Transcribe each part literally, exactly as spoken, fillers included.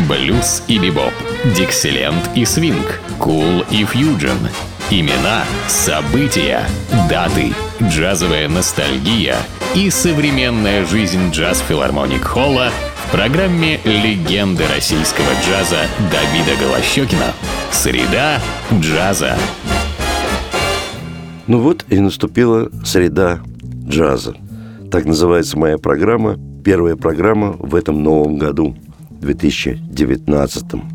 блюз и бибоп, диксиленд и свинг, кул и фьюджен. Имена, события, даты, джазовая ностальгия и современная жизнь джаз-филармоник Холла в программе «Легенды российского джаза» Давида Голощёкина. Среда джаза. Ну вот и наступила среда джаза. Так называется моя программа. Первая программа в этом новом году, две тысячи девятнадцатом.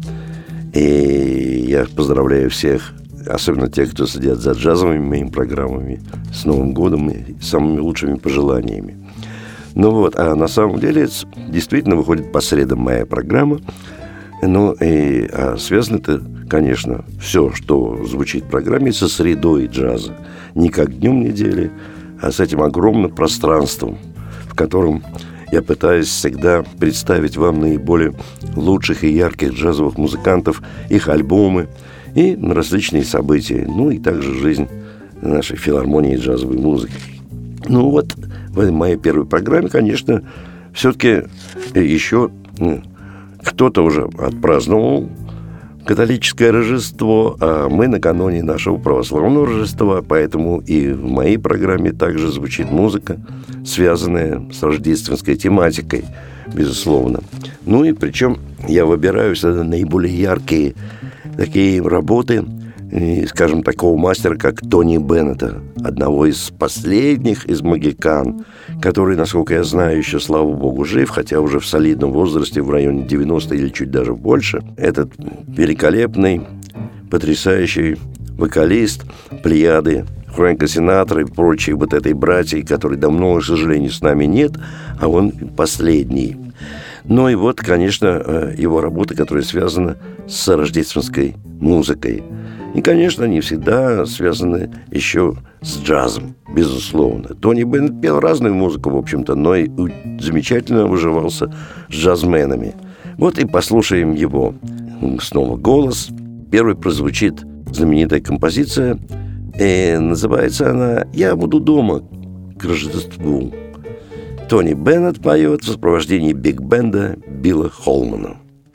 И я поздравляю всех, особенно тех, кто следят за джазовыми моими программами, с Новым годом и самыми лучшими пожеланиями. Ну вот, а на самом деле действительно выходит по средам моя программа. Ну и а связано это, конечно, все, что звучит в программе, со средой джаза. Не как днем недели, а с этим огромным пространством, в котором я пытаюсь всегда представить вам наиболее лучших и ярких джазовых музыкантов, их альбомы и различные события, ну и также жизнь нашей филармонии джазовой музыки. Ну вот, в моей первой программе, конечно, все-таки еще кто-то уже отпраздновал католическое Рождество, а мы накануне нашего православного Рождества, поэтому и в моей программе также звучит музыка, связанная с рождественской тематикой, безусловно. Ну и причем я выбираю сюда наиболее яркие такие работы, скажем, такого мастера, как Тони Беннета, одного из последних из могикан, который, насколько я знаю, еще, слава богу, жив, хотя уже в солидном возрасте, в районе девяноста или чуть даже больше. Этот великолепный, потрясающий вокалист плеяды Фрэнка Синатра и прочие вот этой братья, которые давно, к сожалению, с нами нет, а он последний. Ну и вот, конечно, его работа, которая связана с рождественской музыкой. И, конечно, они всегда связаны еще с джазом, безусловно. Тони Беннет пел разную музыку, в общем-то, но и замечательно выживался с джазменами. Вот и послушаем его снова голос. Первой прозвучит знаменитая композиция, и называется она «Я буду дома к Рождеству». Тони Беннет поет в сопровождении биг-бенда Билла Холмана.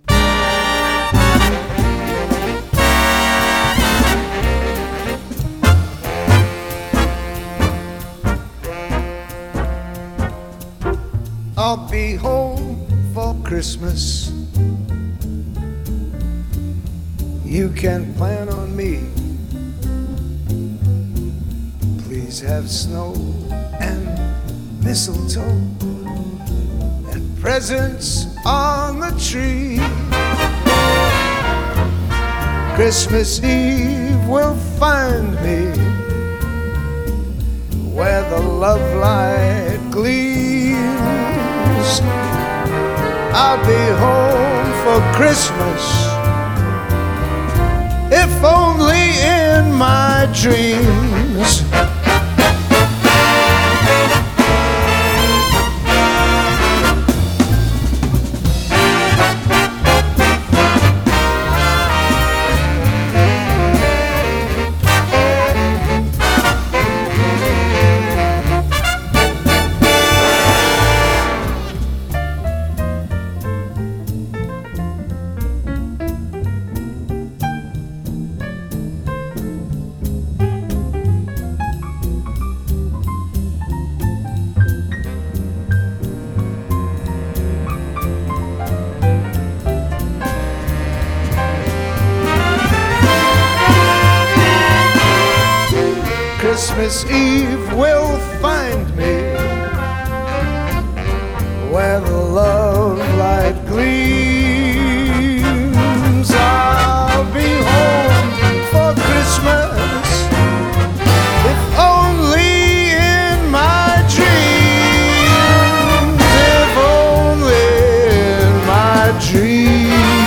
I'll be home for Christmas. You can plan on me. Please have snow and mistletoe and presents on the tree. Christmas Eve will find me where the love light gleams. I'll be home for Christmas, if only in my dreams. Christmas Eve will find me where the love light gleams. I'll be home for Christmas, if only in my dreams, if only in my dreams.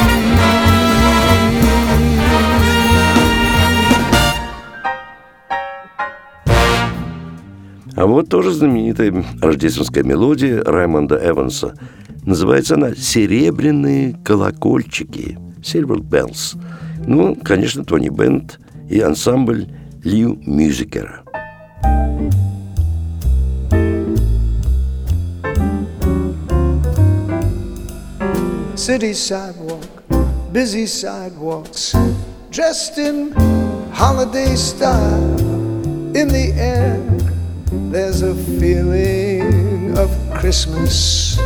А вот тоже знаменитая рождественская мелодия Раймонда Эванса. Называется она «Серебряные колокольчики» – «Silver Bells». Ну, конечно, Тони Беннет и ансамбль Лью Мюзикера. City sidewalk, busy sidewalks, dressed in holiday style. In the air, there's a feeling of Christmas.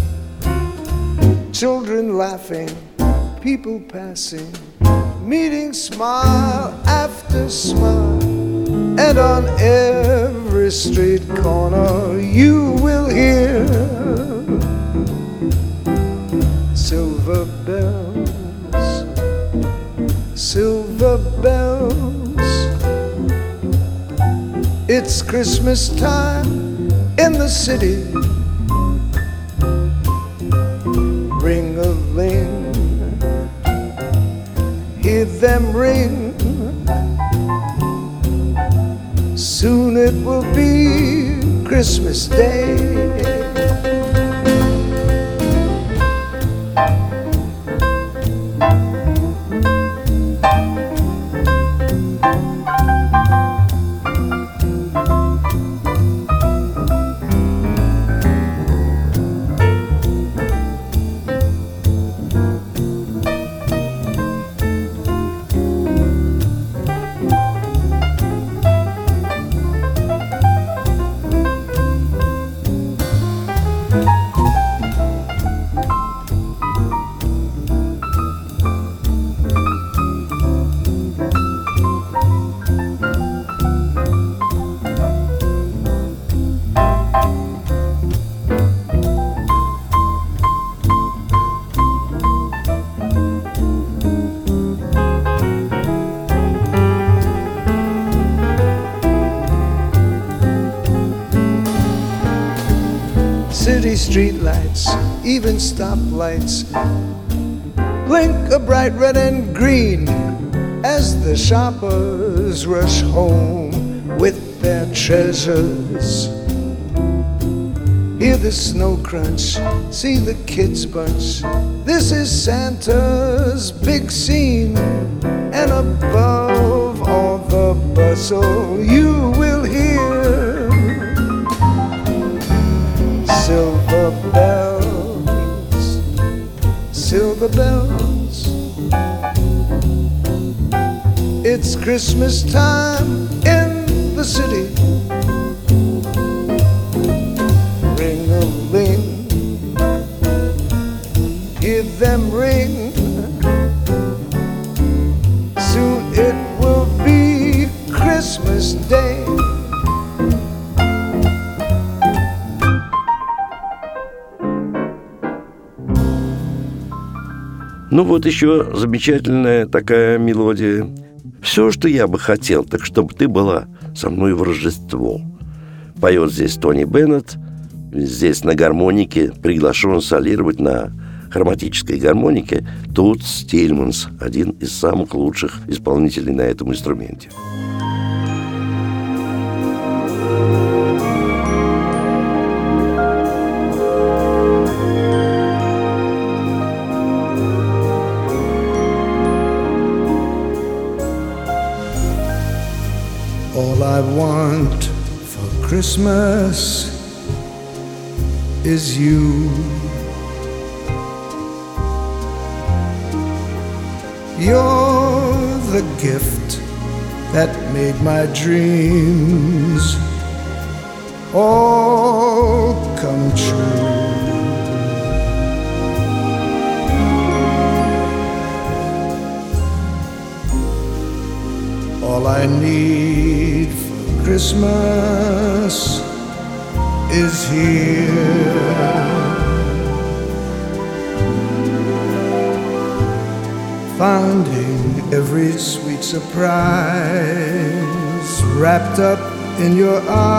Children laughing, people passing, meeting smile after smile. And on every street corner you will hear silver bells, silver bells. It's Christmas time in the city. Ring-a-ling, hear them ring. Soon it will be Christmas Day. City street lights, even stoplights, blink a bright red and green as the shoppers rush home with their treasures. Hear the snow crunch, see the kids bunch. This is Santa's big scene, and above all the bustle you will hear silver bells, silver bells. It's Christmas time in the city. Ring-a-ling, hear them ring. Soon it will be Christmas Day. Ну вот еще замечательная такая мелодия. Все, что я бы хотел, так чтобы ты была со мной в Рождество. Поет здесь Тони Беннет. Здесь на гармонике приглашен солировать на хроматической гармонике Тутс Тильманс, один из самых лучших исполнителей на этом инструменте. All I want for Christmas is you. You're the gift that made my dreams all come true. All I need for Christmas is here. Finding every sweet surprise wrapped up in your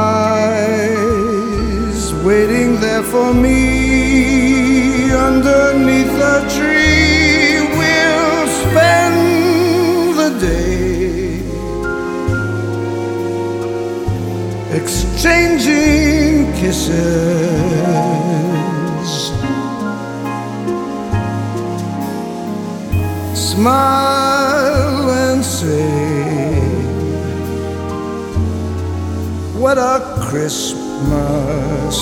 eyes, waiting there for me underneath the tree. We'll spend the day exchanging kisses, smile and say, what a Christmas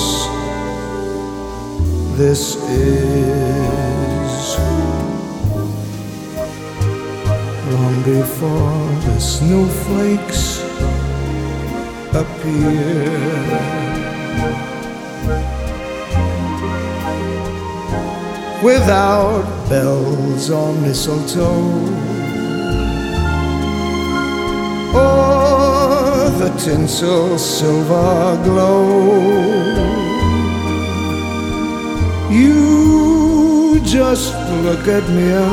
this is. before the snowflakes appear. Without bells or mistletoe, or the tinsel silver glow, you just look at me and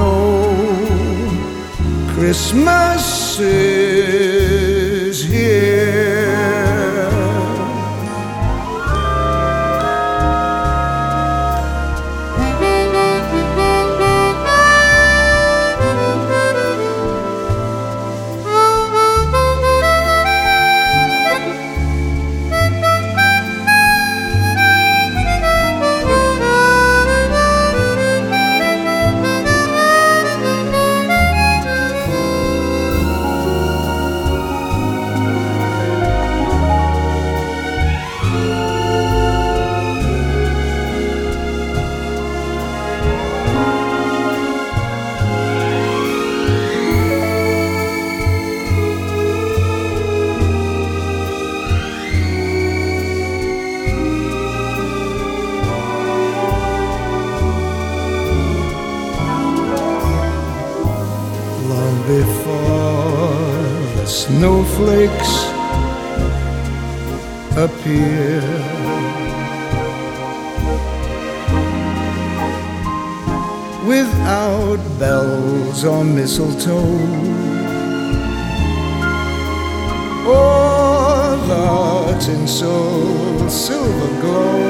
oh, Christmas is here. Snowflakes appear. Without bells or mistletoe, or the tinsel silver glow,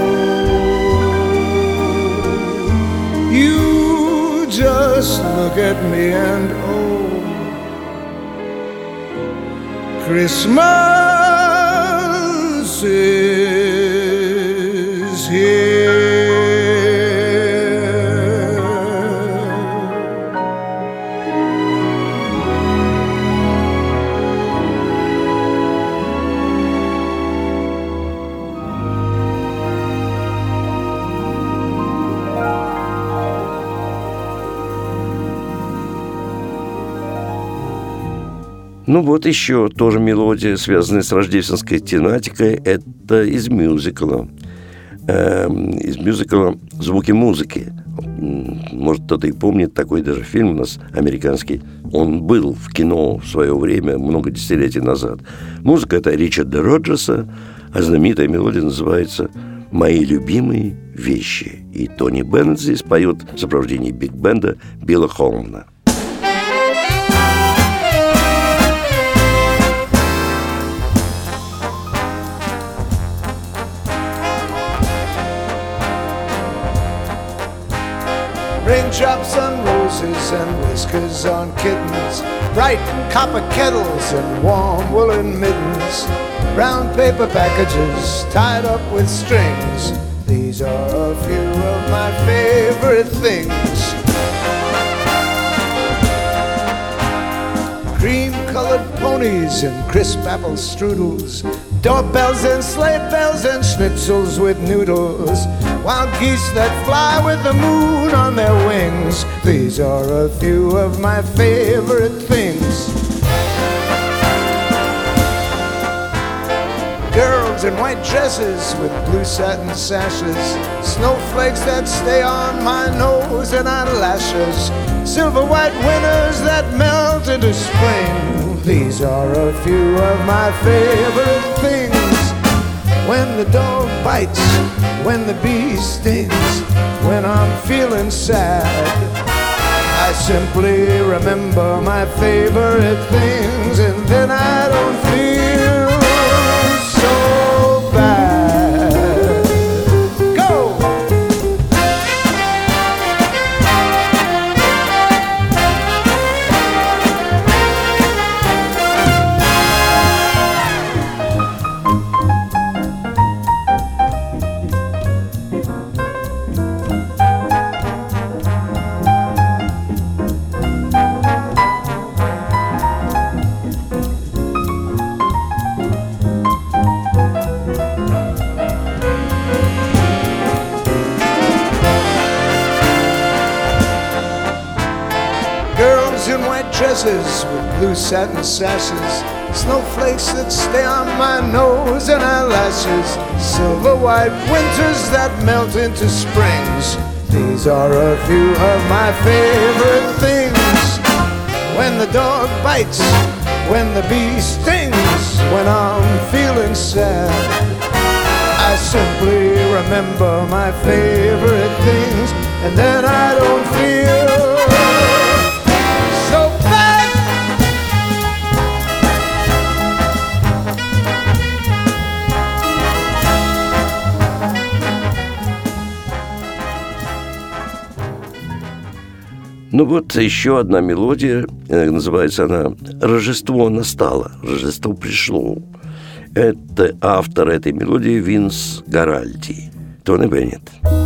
you just look at me and oh, Christmas is here. Ну вот еще тоже мелодия, связанная с рождественской тематикой, это из мюзикла. Эм, из мюзикла «Звуки музыки». Может, кто-то и помнит, такой даже фильм у нас американский. Он был в кино в свое время, много десятилетий назад. Музыка – это Ричарда Роджерса, а знаменитая мелодия называется «Мои любимые вещи». И Тони Беннет здесь поет в сопровождении биг-бенда Билла Холмана. Raindrops on roses and whiskers on kittens, bright copper kettles and warm woolen mittens, brown paper packages tied up with strings. These are a few of my favorite things. Cream-colored ponies and crisp apple strudels, doorbells and sleigh bells and schnitzels with noodles, wild geese that fly with the moon on their wings. These are a few of my favorite things. Girls in white dresses with blue satin sashes, snowflakes that stay on my nose and eyelashes, silver white winters that melt into spring. These are a few of my favorite things. When the dog bites, when the bee stings, when I'm feeling sad, I simply remember my favorite things, and then I don't feel so bad. Go! tresses with blue satin sashes, snowflakes that stay on my nose and eyelashes, silver white winters that melt into springs. These are a few of my favorite things. When the dog bites, when the bee stings, when I'm feeling sad, I simply remember my favorite things, and then I don't feel so bad. Ну вот еще одна мелодия, называется она «Рождество настало», «Рождество пришло». Это автор этой мелодии Винс Гаральди, Тони Беннет.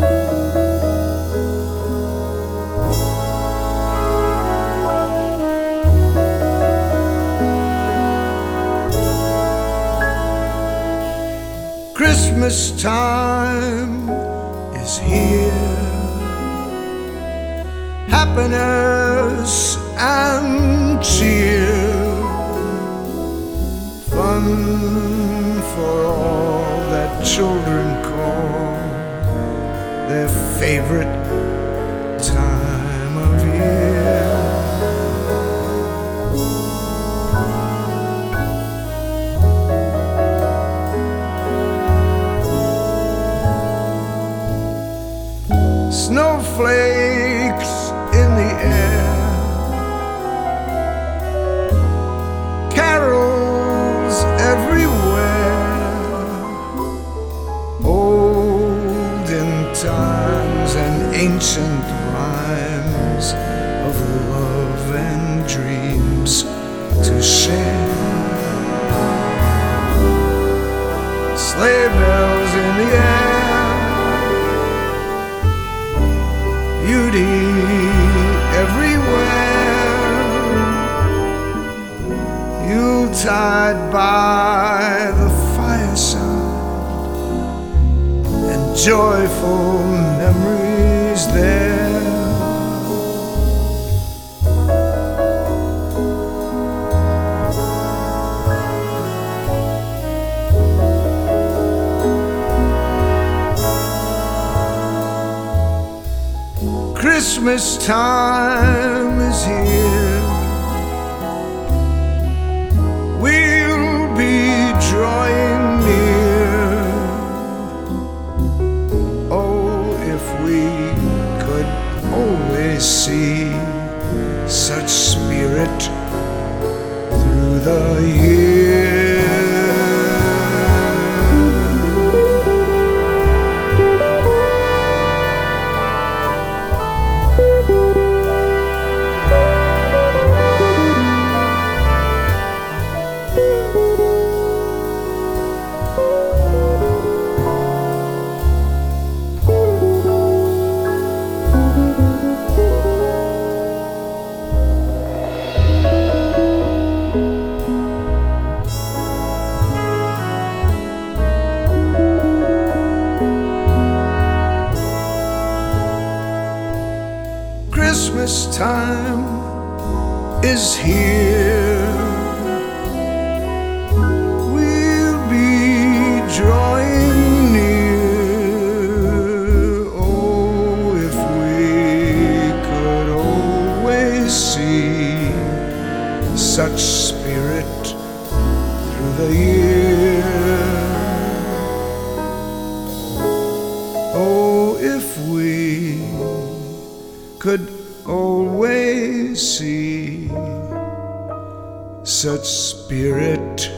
Christmas time is here, happiness and cheer, fun for all that children call their favorite time of year. Snowflakes in the air, carols everywhere, olden times and ancient rhymes of love and dreams to share. Sleigh bells in the air, beauty everywhere, Yuletide by the fireside, and joyful memories there. Christmas time is here, we'll be drawing near. Oh, if we could always see such spirit through the year. Christmas time is here, we'll be drawing near. Oh, if we could always see such spirit through the year. Oh, if we could always see such spirit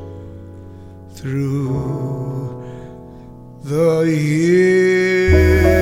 through the year.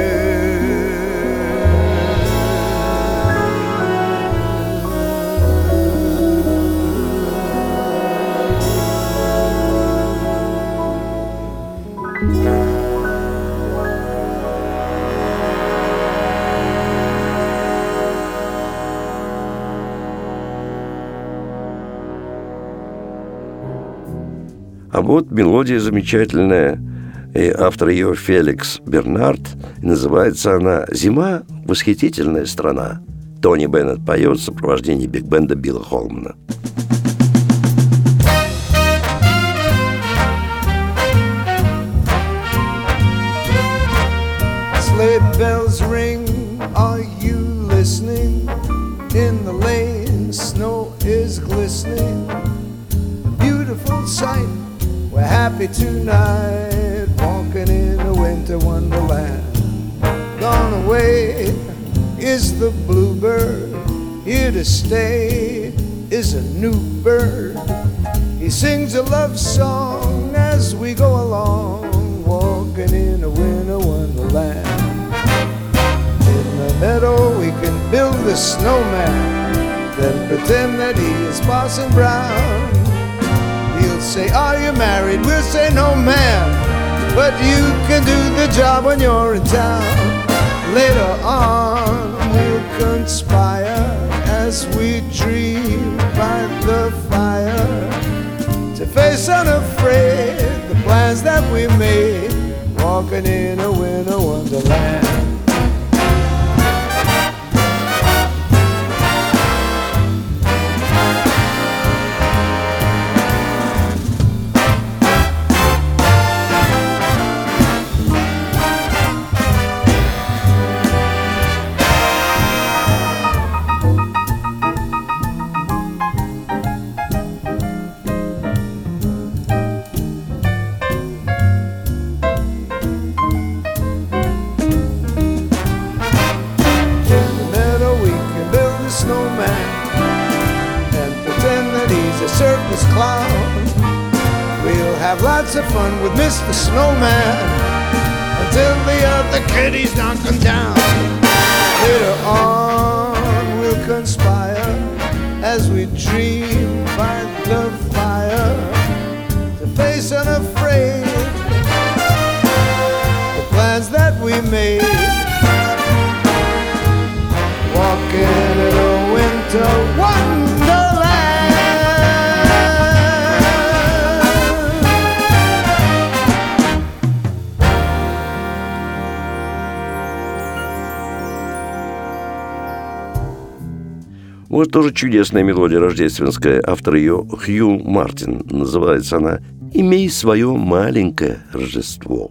А вот мелодия замечательная, и автор ее Феликс Бернард, и называется она «Зима – восхитительная страна». Тони Беннет поет в сопровождении биг-бенда Билла Холмана. Sleigh bells ring, are you listening? In the lane, snow is glistening. Beautiful sight, we're happy tonight, walking in a winter wonderland. Gone away is the bluebird, here to stay is a new bird. He sings a love song as we go along, walking in a winter wonderland. In the meadow we can build a snowman, then pretend that he is Parson Brown. He'll say, are you married? We'll say, no ma'am, but you can do the job when you're in town. Later on we'll conspire as we dream by the fire, to face unafraid the plans that we made, walking in a winter wonderland. Circus clown. We'll have lots of fun with Mister Snowman until the other kiddies knock him down. Later on we'll conspire as we dream by the fire, to face unafraid the plans that we made, walking in a winter wonderland. Вот тоже чудесная мелодия рождественская. Автор ее Хью Мартин. Называется она «Имей свое маленькое Рождество».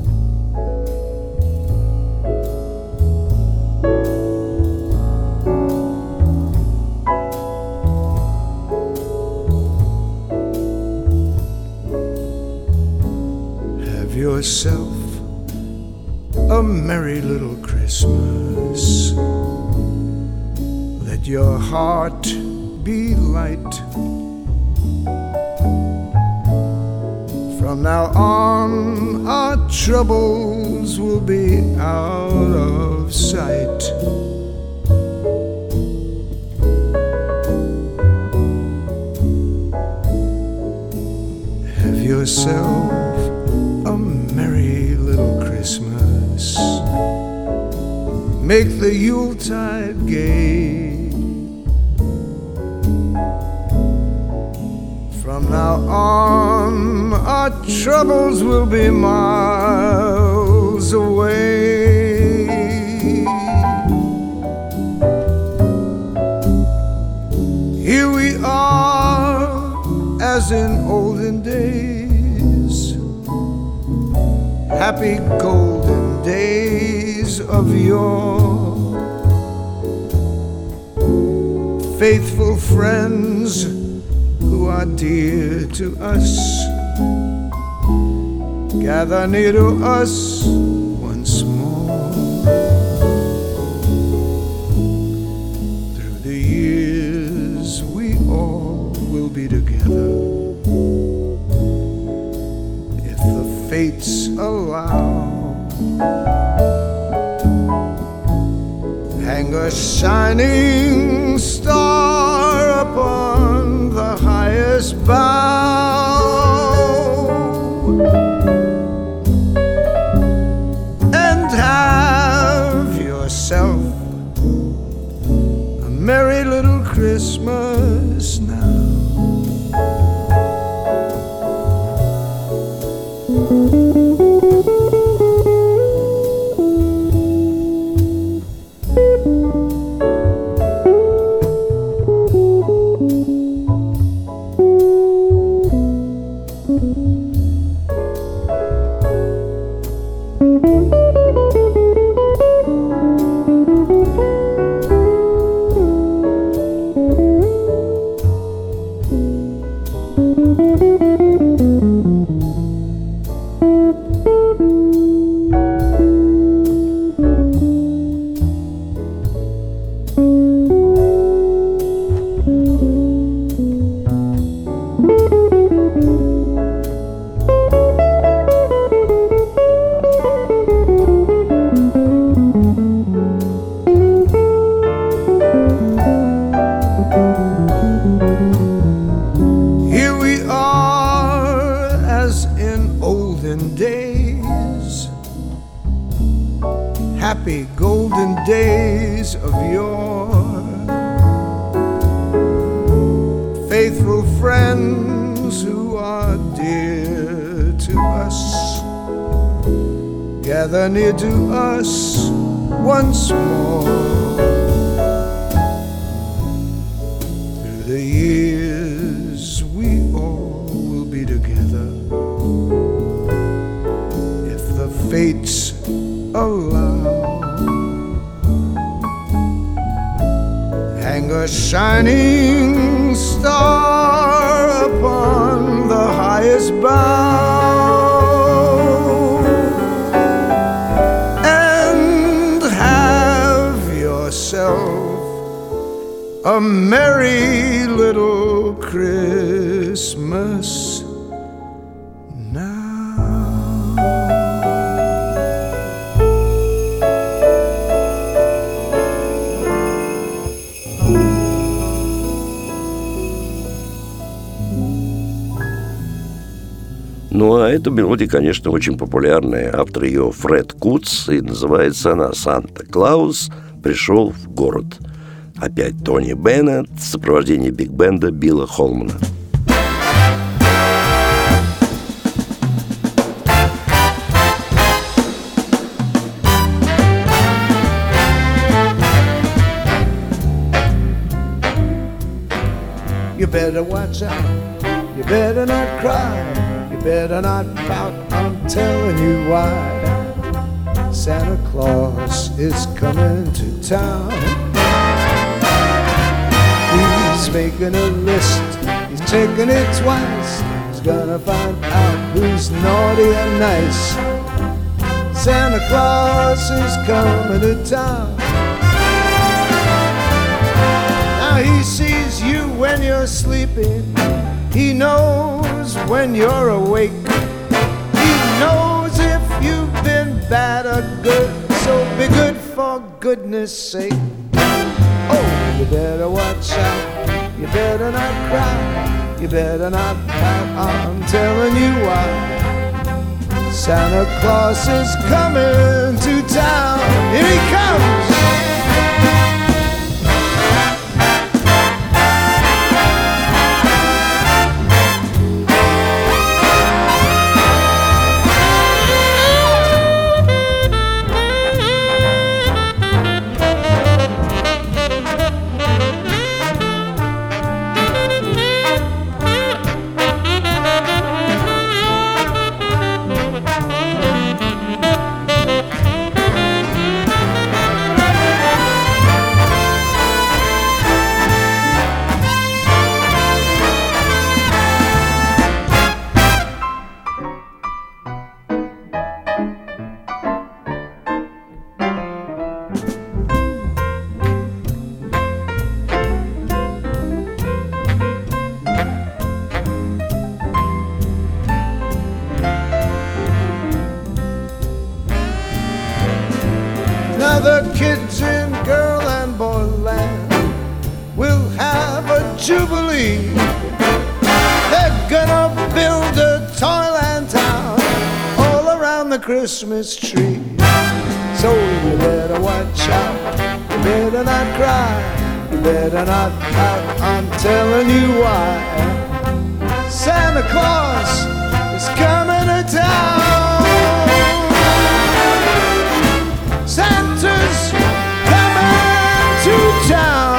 Have yourself a merry little Christmas. Let your heart be light. From now on, our troubles will be out of sight. Have yourself a merry little Christmas. Make the Yuletide gay. From now on, our troubles will be miles away. Here we are, as in olden days, happy golden days of yore. Faithful friends who are dear to us, gather near to us once more. Through the years we all will be together, if the fates allow. Hang a shining star upon the highest bough, and have yourself a merry little Christmas now. Happy golden days of yore, faithful friends who are dear to us, gather near to us once more. Through the years we all will be together, if the fates allow. Hang a shining star upon the highest bough, and have yourself a merry little Christmas now. Ну, а эта мелодия, конечно, очень популярная. Автор ее Фред Кутс, и называется она «Санта-Клаус пришел в город». Опять Тони Беннет в сопровождении биг-бенда Билла Холмана. You better watch out, you better not cry, you better not pout, I'm telling you why. Santa Claus is coming to town. He's making a list, he's checking it twice. He's gonna find out who's naughty and nice. Santa Claus is coming to town. Now he sees you when you're sleeping, he knows when you're awake, he knows if you've been bad or good, so be good for goodness sake. Oh, you better watch out, you better not cry, you better not pout, I'm telling you why. Santa Claus is coming to town. Here he comes! The kids in girl and boy land will have a jubilee. They're gonna build a toyland town all around the Christmas tree. So you better watch out, you better not cry, you better not pout, I'm telling you why. Santa Claus is coming to town. Santa's coming to town.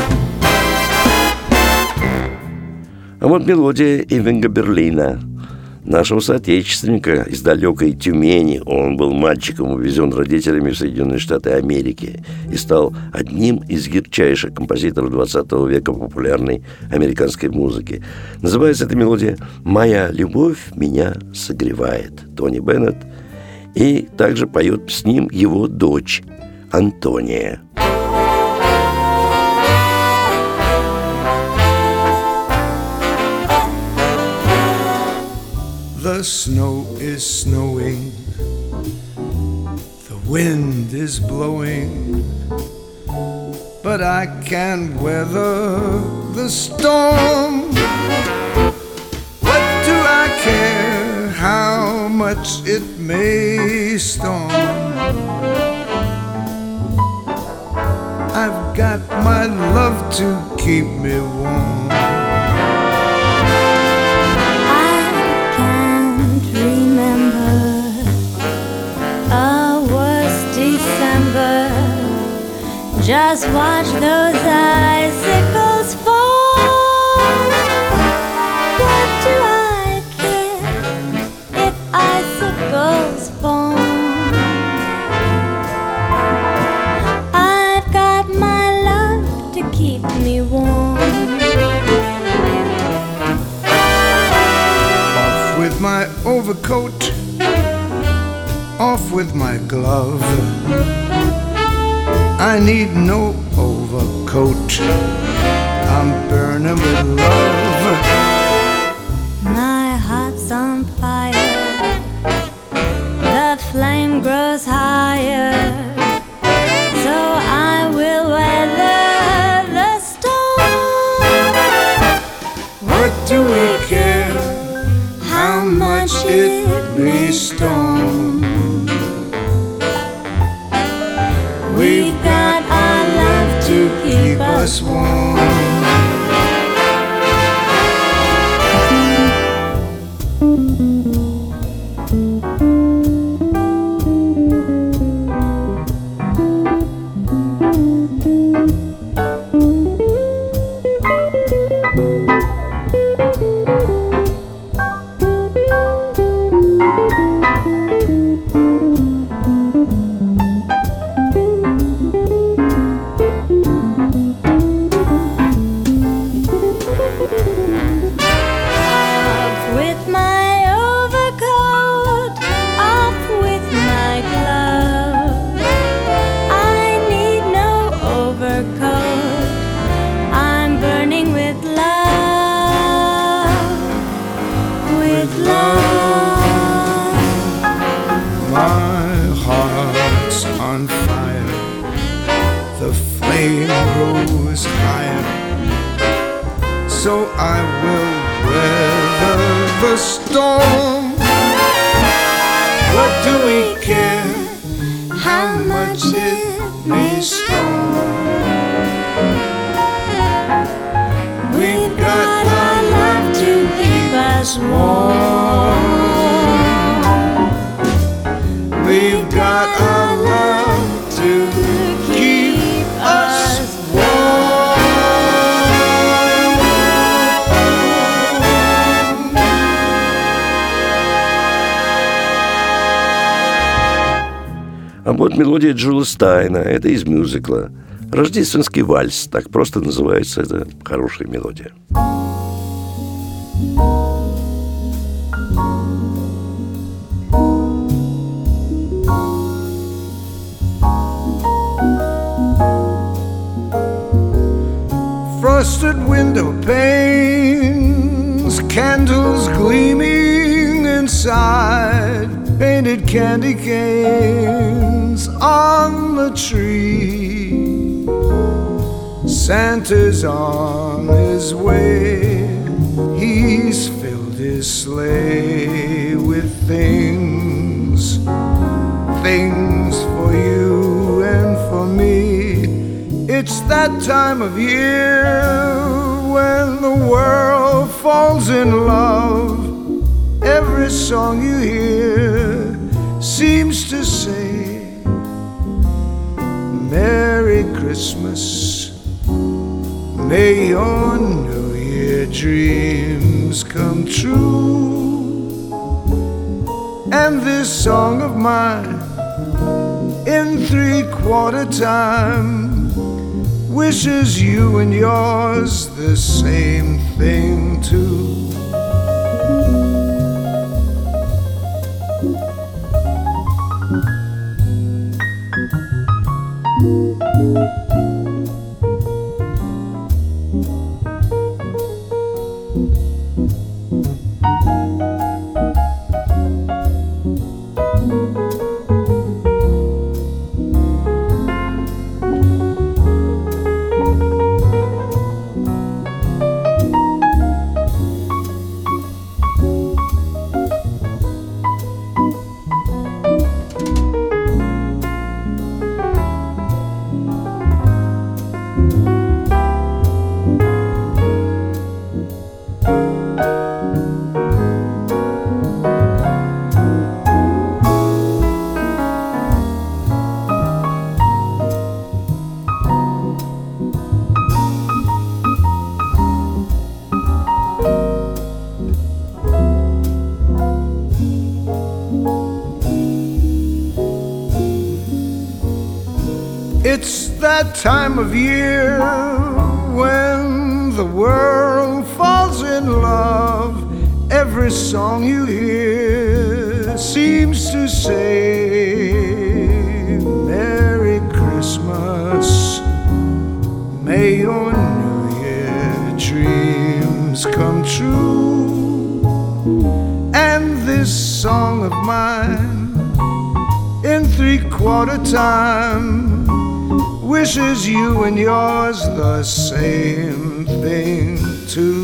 А вот мелодия Ирвинга Берлина. нашего соотечественника из далекой Тюмени. Он был мальчиком, увезен родителями в Соединенные Штаты Америки и стал одним из ярчайших композиторов двадцатого века популярной американской музыки. Называется эта мелодия «Моя любовь меня согревает». Тони Беннет. И также поет с ним его дочь Антония. The snow is snowing, the wind is blowing, but I can weather the storm. What do I care how much it may storm? I've got my love to keep me warm. Just watch those icicles fall. What do I care if icicles fall? I've got my love to keep me warm. Off with my overcoat, off with my glove. I need no overcoat, I'm burning with love. My heart's on fire, the flame grows higher, so I will weather the storm. What do we care how much it may storm? We've got our love to keep us warm. Grows higher, so I will weather the storm. What do we care how much it may storm? We've got our love to keep us warm. We've got our love to keep us А вот мелодия Джула Стайна, это из мюзикла «Рождественский вальс», так просто называется эта хорошая мелодия. Frosted window panes, candles gleaming inside, painted candy canes on the tree. Santa's on his way, he's filled his sleigh with things, things for you and for me. It's that time of year when the world falls in love. Every song you hear seems to say Merry Christmas, may your New Year dreams come true. And this song of mine in three-quarter time wishes you and yours the same thing too. It's that time of year when the world falls in love. Every song you hear seems to say, Merry Christmas, may your New Year dreams come true. And this song of mine in three-quarter time wishes you and yours the same thing too.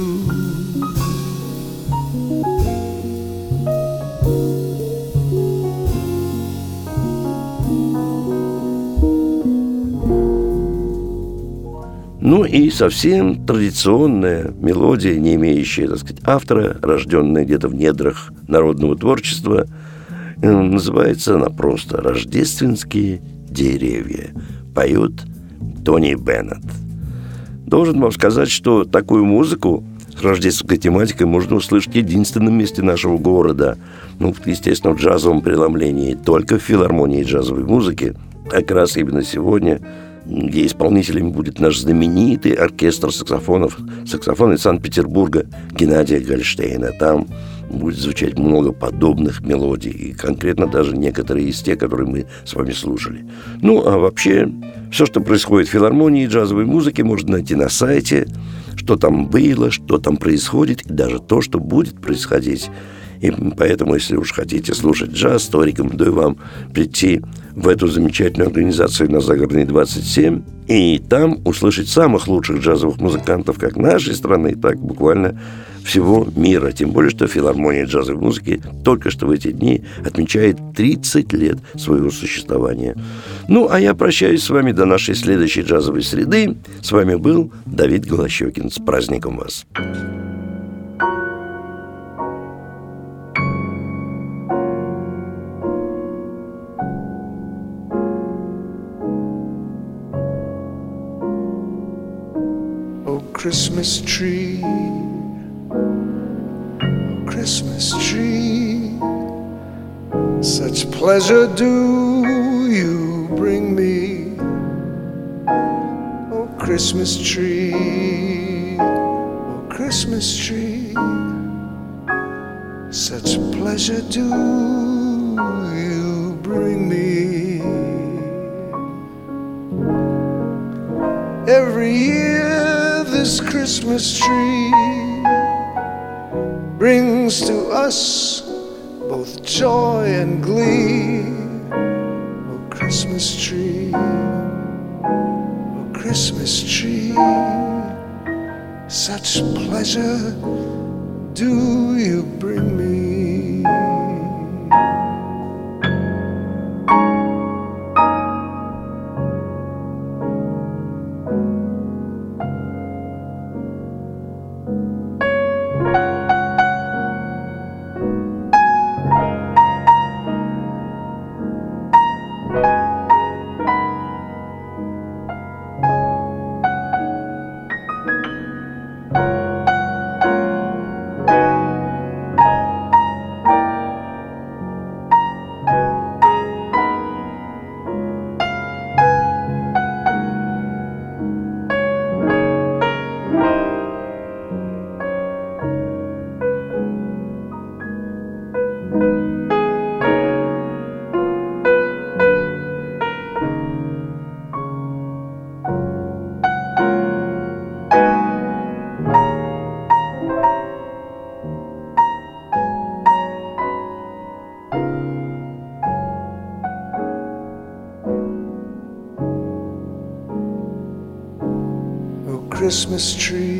Ну и совсем традиционная мелодия, не имеющая, так сказать, автора, рожденная где-то в недрах народного творчества, называется она просто «Рождественские деревья». Поет Тони Беннет. Должен вам сказать, что такую музыку с рождественской тематикой можно услышать в единственном месте нашего города. Ну, естественно, в джазовом преломлении, только в филармонии джазовой музыки. Как раз именно сегодня, где исполнителем будет наш знаменитый оркестр саксофонов, саксофон из Санкт-Петербурга Геннадия Гольштейна. Там будет звучать много подобных мелодий, и конкретно даже некоторые из тех, которые мы с вами слушали. Ну, а вообще, все, что происходит в филармонии джазовой музыки, можно найти на сайте, что там было, что там происходит, и даже то, что будет происходить. И поэтому, если уж хотите слушать джаз, то рекомендую вам прийти в эту замечательную организацию на Загородной двадцать семь и там услышать самых лучших джазовых музыкантов как нашей страны, так буквально всего мира. Тем более, что филармония джазовой музыки только что в эти дни отмечает тридцать лет своего существования. Ну, а я прощаюсь с вами до нашей следующей джазовой среды. С вами был Давид Голощёкин. С праздником вас! Christmas tree, Christmas tree, such pleasure do you bring me. Oh, Christmas tree, oh, Christmas tree, such pleasure do you bring me. Every year this Christmas tree brings to us both joy and glee. Oh, Christmas tree, oh, Christmas tree, such pleasure do you bring me. Christmas tree,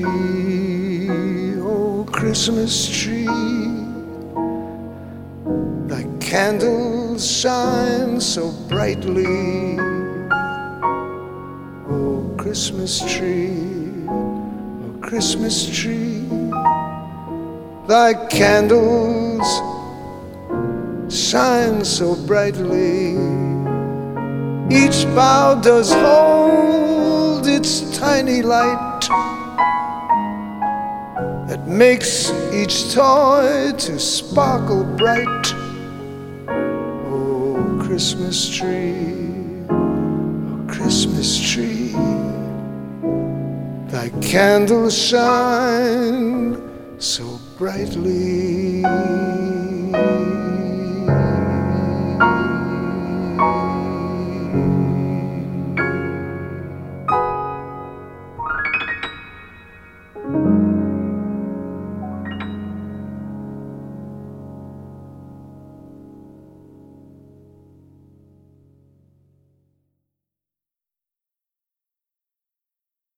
oh Christmas tree, thy candles shine so brightly, oh Christmas tree, oh Christmas tree, thy candles shine so brightly. Each bough does hold its tiny light that makes each toy to sparkle bright. Oh, Christmas tree, oh, Christmas tree, thy candles shine so brightly.